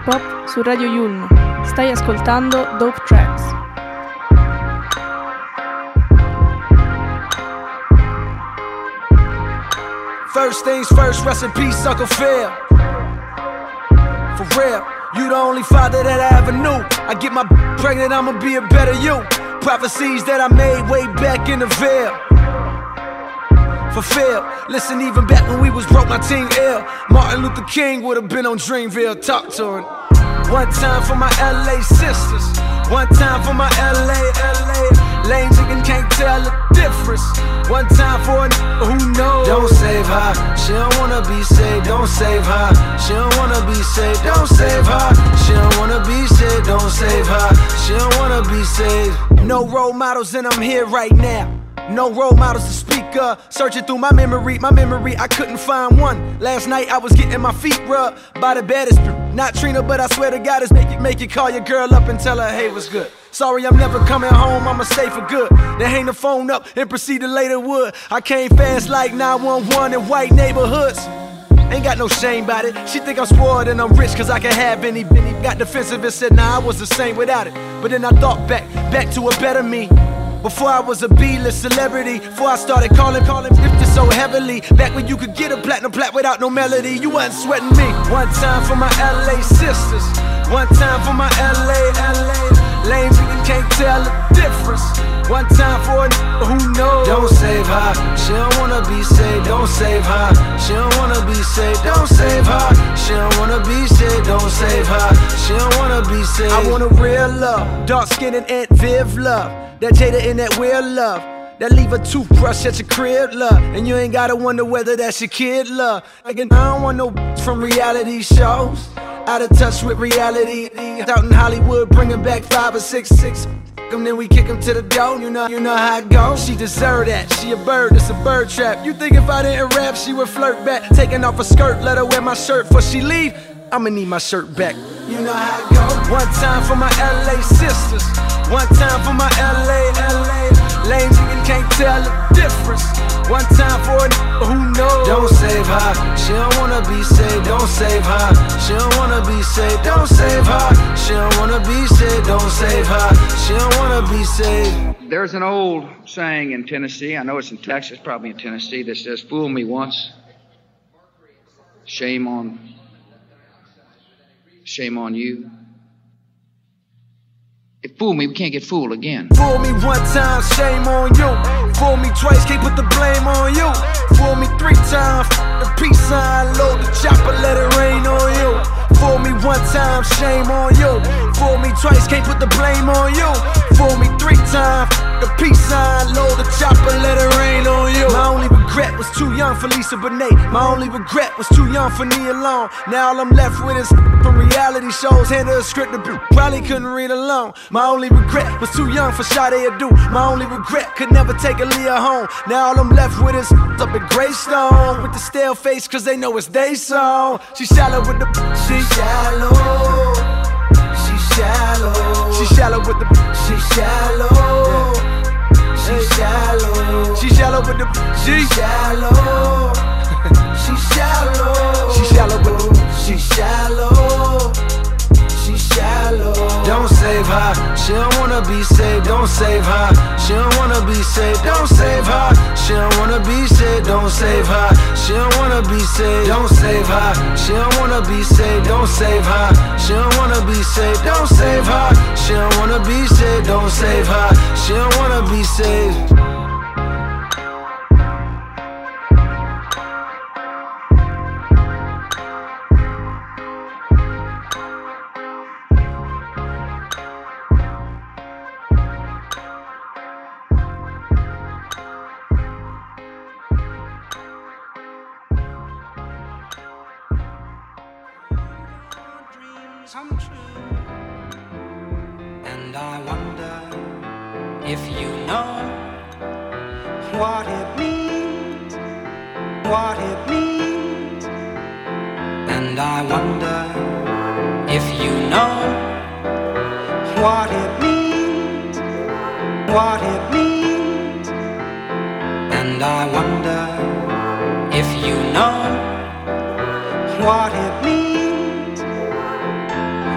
Pop su Radio Yulm. Stai ascoltando Dope Tracks. First things first, rest in peace, Uncle Phil. For real, you the only father that I ever knew. I get my pregnant, I'ma be a better you. Prophecies that I made way back in the veil. Fulfilled. Listen, even back when we was broke, my team ill. Martin Luther King would've been on Dreamville. Talk to him. One time for my LA sisters. One time for my LA. Lame chicken can't tell the difference. One time for a who knows. Don't save her. She don't wanna be saved. Don't save her. She don't wanna be saved. Don't save her. She don't wanna be saved. Don't save her. She don't wanna be saved. No role models and I'm here right now. No role models to speak of. Searching through my memory, I couldn't find one. Last night I was getting my feet rubbed by the baddest. Not Trina, but I swear to God it's make you call your girl up and tell her, hey, what's good? Sorry, I'm never coming home, I'ma stay for good. Then hang the phone up and proceed to later wood. I came fast like 911 in white neighborhoods. Ain't got no shame about it. She think I'm spoiled and I'm rich cause I can have any. Got defensive and said, nah, I was the same without it. But then I thought back to a better me. Before I was a B-list celebrity, before I started calling lifted so heavily. Back when you could get a platinum plat without no melody, you wasn't sweating me. One time for my LA sisters, one time for my LA. Lame chicken can't tell the difference. One time for a who knows. Don't save her, she don't wanna be saved. Don't save her, she don't wanna be saved. Don't save her, she don't wanna be saved. Don't save her, she don't wanna be saved. I want a real love, dark skin and Aunt Viv love. That Jada in that weird love. That leave a toothbrush at your crib, love. And you ain't gotta wonder whether that's your kid, love. Again, I don't want no from reality shows. Out of touch with reality. Out in Hollywood, bringing back 5 or 6. And then we kick him to the door, you know how it goes. She deserve that, she a bird, it's a bird trap. You think if I didn't rap, she would flirt back. Taking off her skirt, let her wear my shirt before she leave. I'ma need my shirt back. You know how it goes. One time for my LA sisters. One time for my LA. Lame chicken can't tell the difference. One time for a who knows. Don't save her, she don't wanna be saved. Don't save her, she don't wanna be saved. Don't save her, she don't wanna be saved. Don't save her, she don't wanna be saved. There's an old saying in Tennessee, I know it's in Texas, probably in Tennessee, that says, fool me once, shame on you. If fool me, we can't get fooled again. Fool me one time, shame on you. Fool me twice, can't put the blame on you. Fool me 3 times, the peace sign, load the chopper, let it rain on you. Fool me one time, shame on you. Fool me twice, can't put the blame on you. Fool me 3 times, the peace sign, load the chopper, let it rain on you. My only regret was too young for Lisa Bonet. My only regret was too young for Nia Long. Now all I'm left with is from reality shows. Handed a script to probably couldn't read alone. My only regret was too young for Sade Adu. My only regret could never take Aaliyah home. Now all I'm left with is up at Greystone with the stale face cause they know it's they song. She shallow with the she shallow. She shallow. She shallow with the she shallow. She shallow. She shallow with the she shallow. She shallow. She shallow with the she shallow. She shallow. Don't save her, she don't wanna be saved. Don't save her, she don't wanna be saved. Don't save her, she don't wanna be saved. Don't save her, she don't wanna be saved. Don't save her, she don't wanna be saved. Don't save her, she don't wanna be saved. Don't save her, she don't wanna be saved. Don't save her, she don't wanna be saved. Come true. And I wonder if you know what it means, what it means. And I wonder if you know what it means, what it means. And I wonder if you know what it means.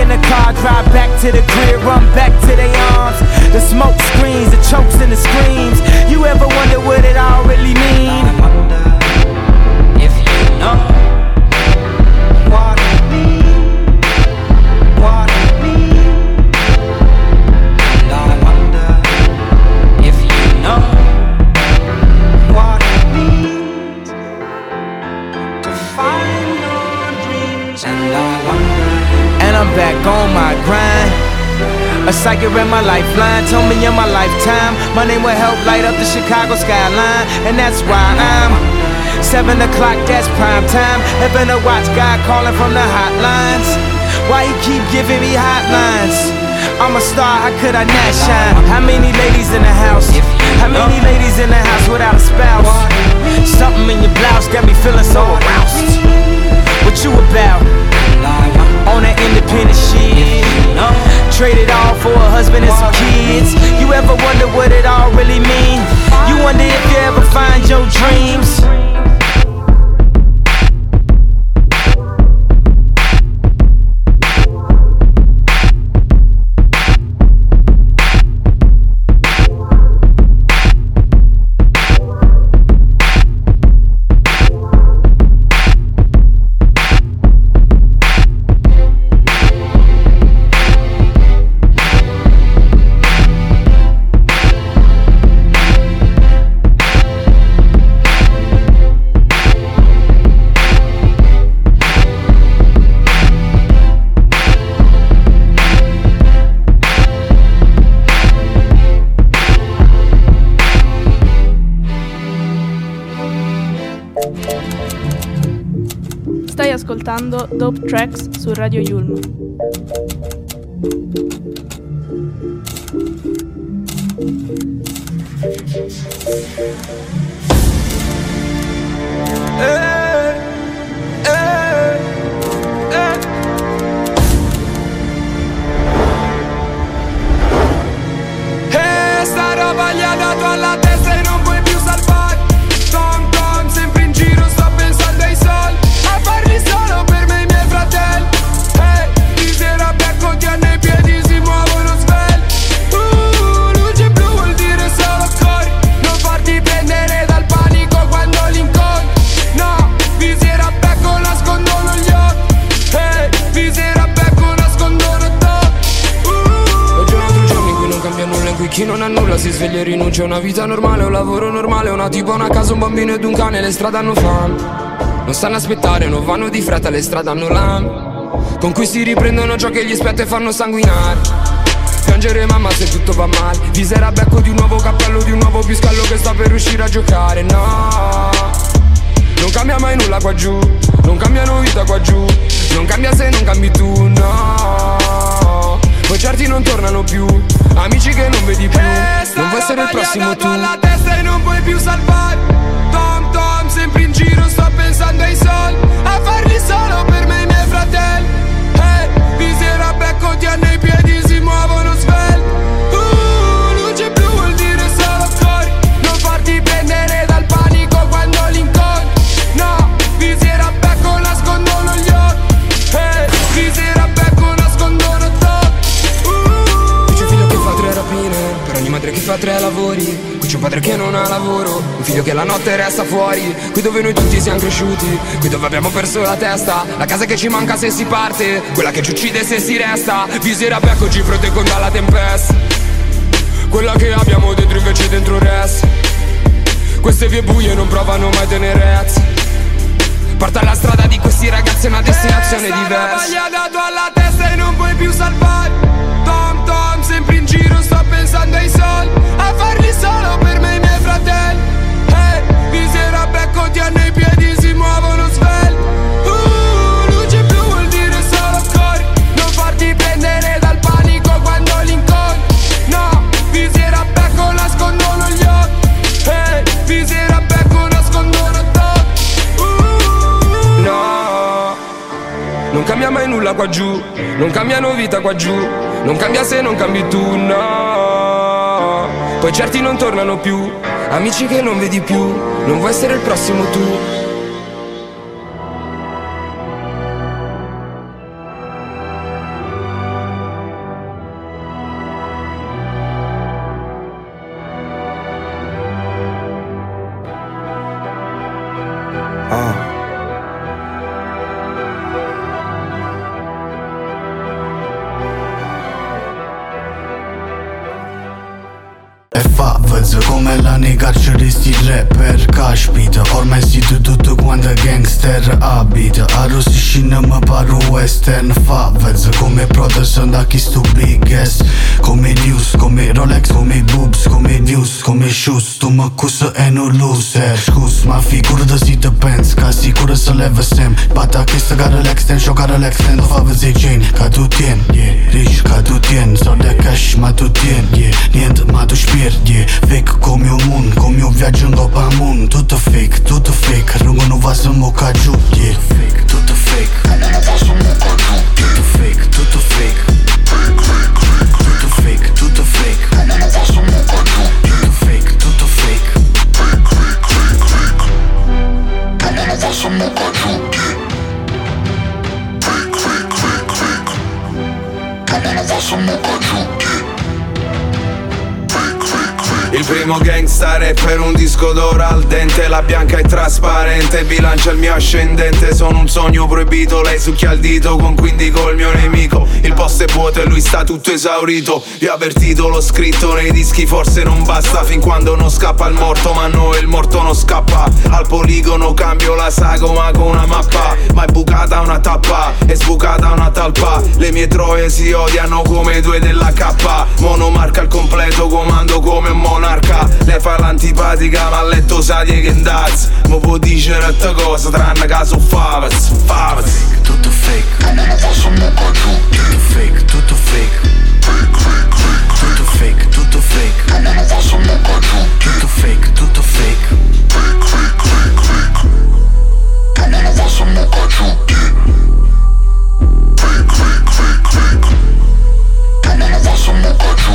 in the car, drive back to the crib, run back to their arms. The smoke screens, the chokes and the screams. You ever wonder what it all really mean? I wonder if you know what it means, what it means. And I wonder if you know what it means to find your dreams. And I wonder. And I'm back on my grind. A psychic read my lifeline, told me in my lifetime my name will help light up the Chicago skyline. And that's why I'm 7 o'clock, that's prime time. Heaven to watch God calling from the hotlines. Why he keep giving me hotlines? I'm a star, how could I not shine? How many ladies in the house? How many ladies in the house without a spouse? Something in your blouse got me feeling so aroused. What you about? On that independent shit, traded all for a husband and some kids. You ever wonder what it all really mean? You wonder if you ever find your dreams. Stai ascoltando Dope Tracks su Radio Yulm. Sta roba gli ha dato alla testa e non puoi più salvare. Tom Tom, sempre in giro, sto pensando ai soldi. A farli solo per me e i miei fratelli. Di sera becco ti hanno i piedi, si muovono svelti. Luce blu vuol dire solo corri. Non farti prendere dal panico quando li incontri. No, di sera becco nascondono gli occhi. Di sera becco nascondono tocchi. Ho giorni in cui non cambia nulla, in cui chi non ha nulla si sveglia e rinuncia a una vita normale, un lavoro normale, una tipa, una casa, un bambino ed un cane. Le strade hanno fame, non stanno a aspettare, non vanno di fretta, le strade hanno lame con cui si riprendono ciò che gli spetta e fanno sanguinare. Piangere mamma se tutto va male. Di sera becco di un nuovo cappello, di un nuovo piscallo che sta per riuscire a giocare. No, non cambia mai nulla qua giù, non cambiano vita qua giù. Non cambia se non cambi tu, no. Poi certi non tornano più, amici che non vedi più. Non vuoi essere il prossimo tu. Alla testa e non puoi più salvare. Tom Tom, sempre in giro, sto pensando ai soldi. A farli solo per me e i miei fratelli. Di sera becco ti hanno i piedi, si muovono svelti. Luce blu vuol dire solo corri. Non farti prendere dal panico quando li incontri. No, di sera becco nascondono gli occhi. Di sera becco nascondono tocchi. C'è un figlio che fa 3 rapine, per ogni madre che fa 3 lavori. Qui c'è un padre che non ha lavoro, un figlio che la notte resta fuori. Qui dove noi tutti siamo cresciuti, qui dove abbiamo perso la testa. La casa che ci manca se si parte, quella che ci uccide se si resta. Visera becco ci proteggono dalla tempesta, quella che abbiamo dentro invece dentro resta. Queste vie buie non provano mai tenerezza. Porta alla strada di questi ragazzi una destinazione diversa. Gli ha dato alla testa e non puoi più salvare. Tom Tom, sempre in giro, sto pensando ai soldi. A farli solo per me e i miei fratelli. Di sera becco ti hanno i piedi, si muovono svelti. Luce blu vuol dire solo corri. Non farti prendere dal panico quando li incontri. No, di sera becco nascondono gli occhi. Di sera becco nascondono tocchi. No, non cambia mai nulla qua giù, non cambiano vita qua giù. Non cambia se non cambi tu, no. Poi certi non tornano più, amici che non vedi più. Non vuoi essere il prossimo tu. come la nei carceri sti rapper. Caspita, ormai siete tutto quanto gangster abita. Arrossisci mi paro western favez. Come Protestant da chi sto big ass. Come news, come Rolex, come boobs, come views, come shoes. Tu mi accusa e non loser. Scus, ma figură si te pens, ca sigură să le văsem. Bata chestia care le extend, și o care le extend. O favă zei chain, ca tu tien, yeah. Rich, ca tu tien, so de cash, ma tu tien, yeah. Niente, ma tu spierd, yeah. Fake come io moon, come io viaggio in Copa Moon. Tutto fake, rungo nu va să mă ca giù, yeah. Tutto fake, rungo nu va să mă ca giù. Tutto fake, tutto fake. Tutto fake, tutto fake. Rungo nu va să mă ca giù. Tutto fake, tutto fake. Rungo nu va să mă ca giù, yeah. Rungo nu va să mă ca giù, yeah. Il primo gangsta rapper, un disco d'oro al dente. La bianca è trasparente, bilancia il mio ascendente. Sono un sogno proibito, lei succhia il dito con quindi col mio nemico. Il posto è vuoto e lui sta tutto esaurito. Vi ho avvertito, l'ho scritto nei dischi, forse non basta fin quando non scappa il morto. Ma no, il morto non scappa. Al poligono cambio la sagoma con una mappa. Ma è bucata una tappa, è sbucata una talpa. Le mie troie si odiano come due della K. Monomarca al completo, comando come un monarca. Lei fa l'antipatica ma a letto sa di che andazz. Ma può dire altre cose tranne che so favaz. Tutto fake, ma non va să mă ca giù. Tutto fake, tutto fake. Tutto fake, tutto fake. Ma non va să mă ca giù. Tutto fake, tutto fake. Ma non va să mă ca giù. Ma non va să mă ca giù.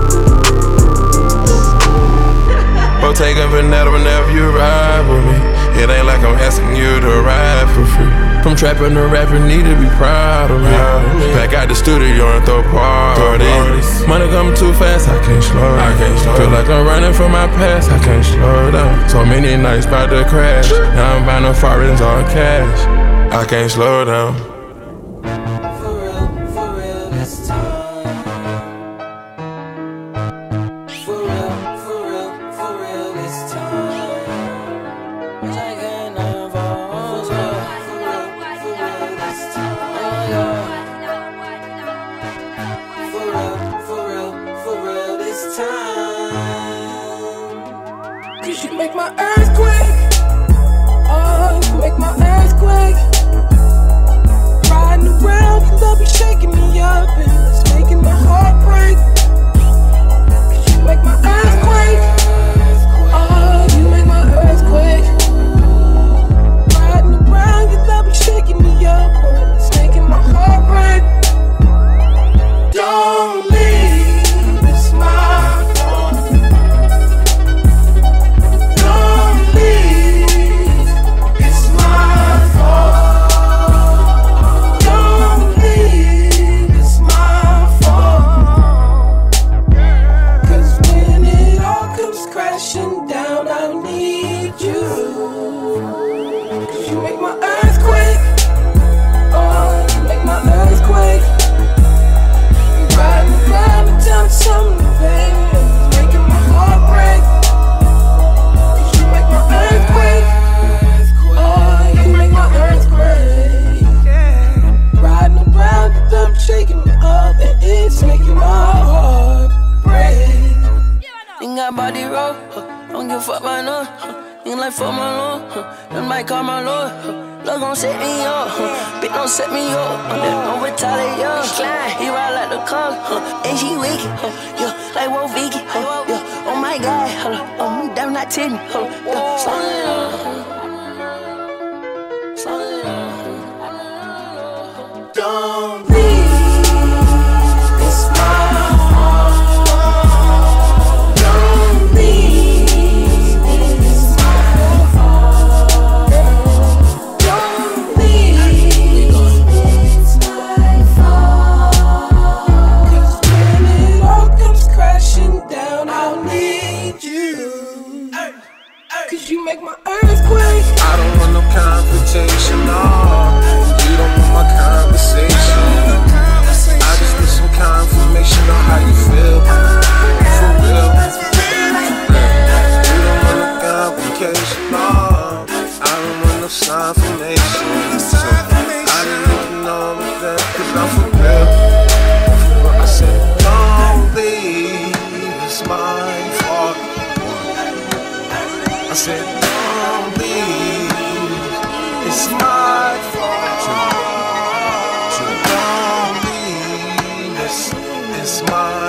Taking Vanetta whenever you ride with me. It ain't like I'm asking you to ride for free. From trapping to rapping, need to be proud of me. Back out the studio and throw parties. Money coming too fast, I can't slow down. Feel like I'm running from my past, I can't slow down. So many nights about to crash. Now I'm buying the foreigns all cash. I can't slow down.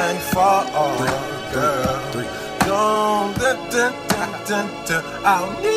I'll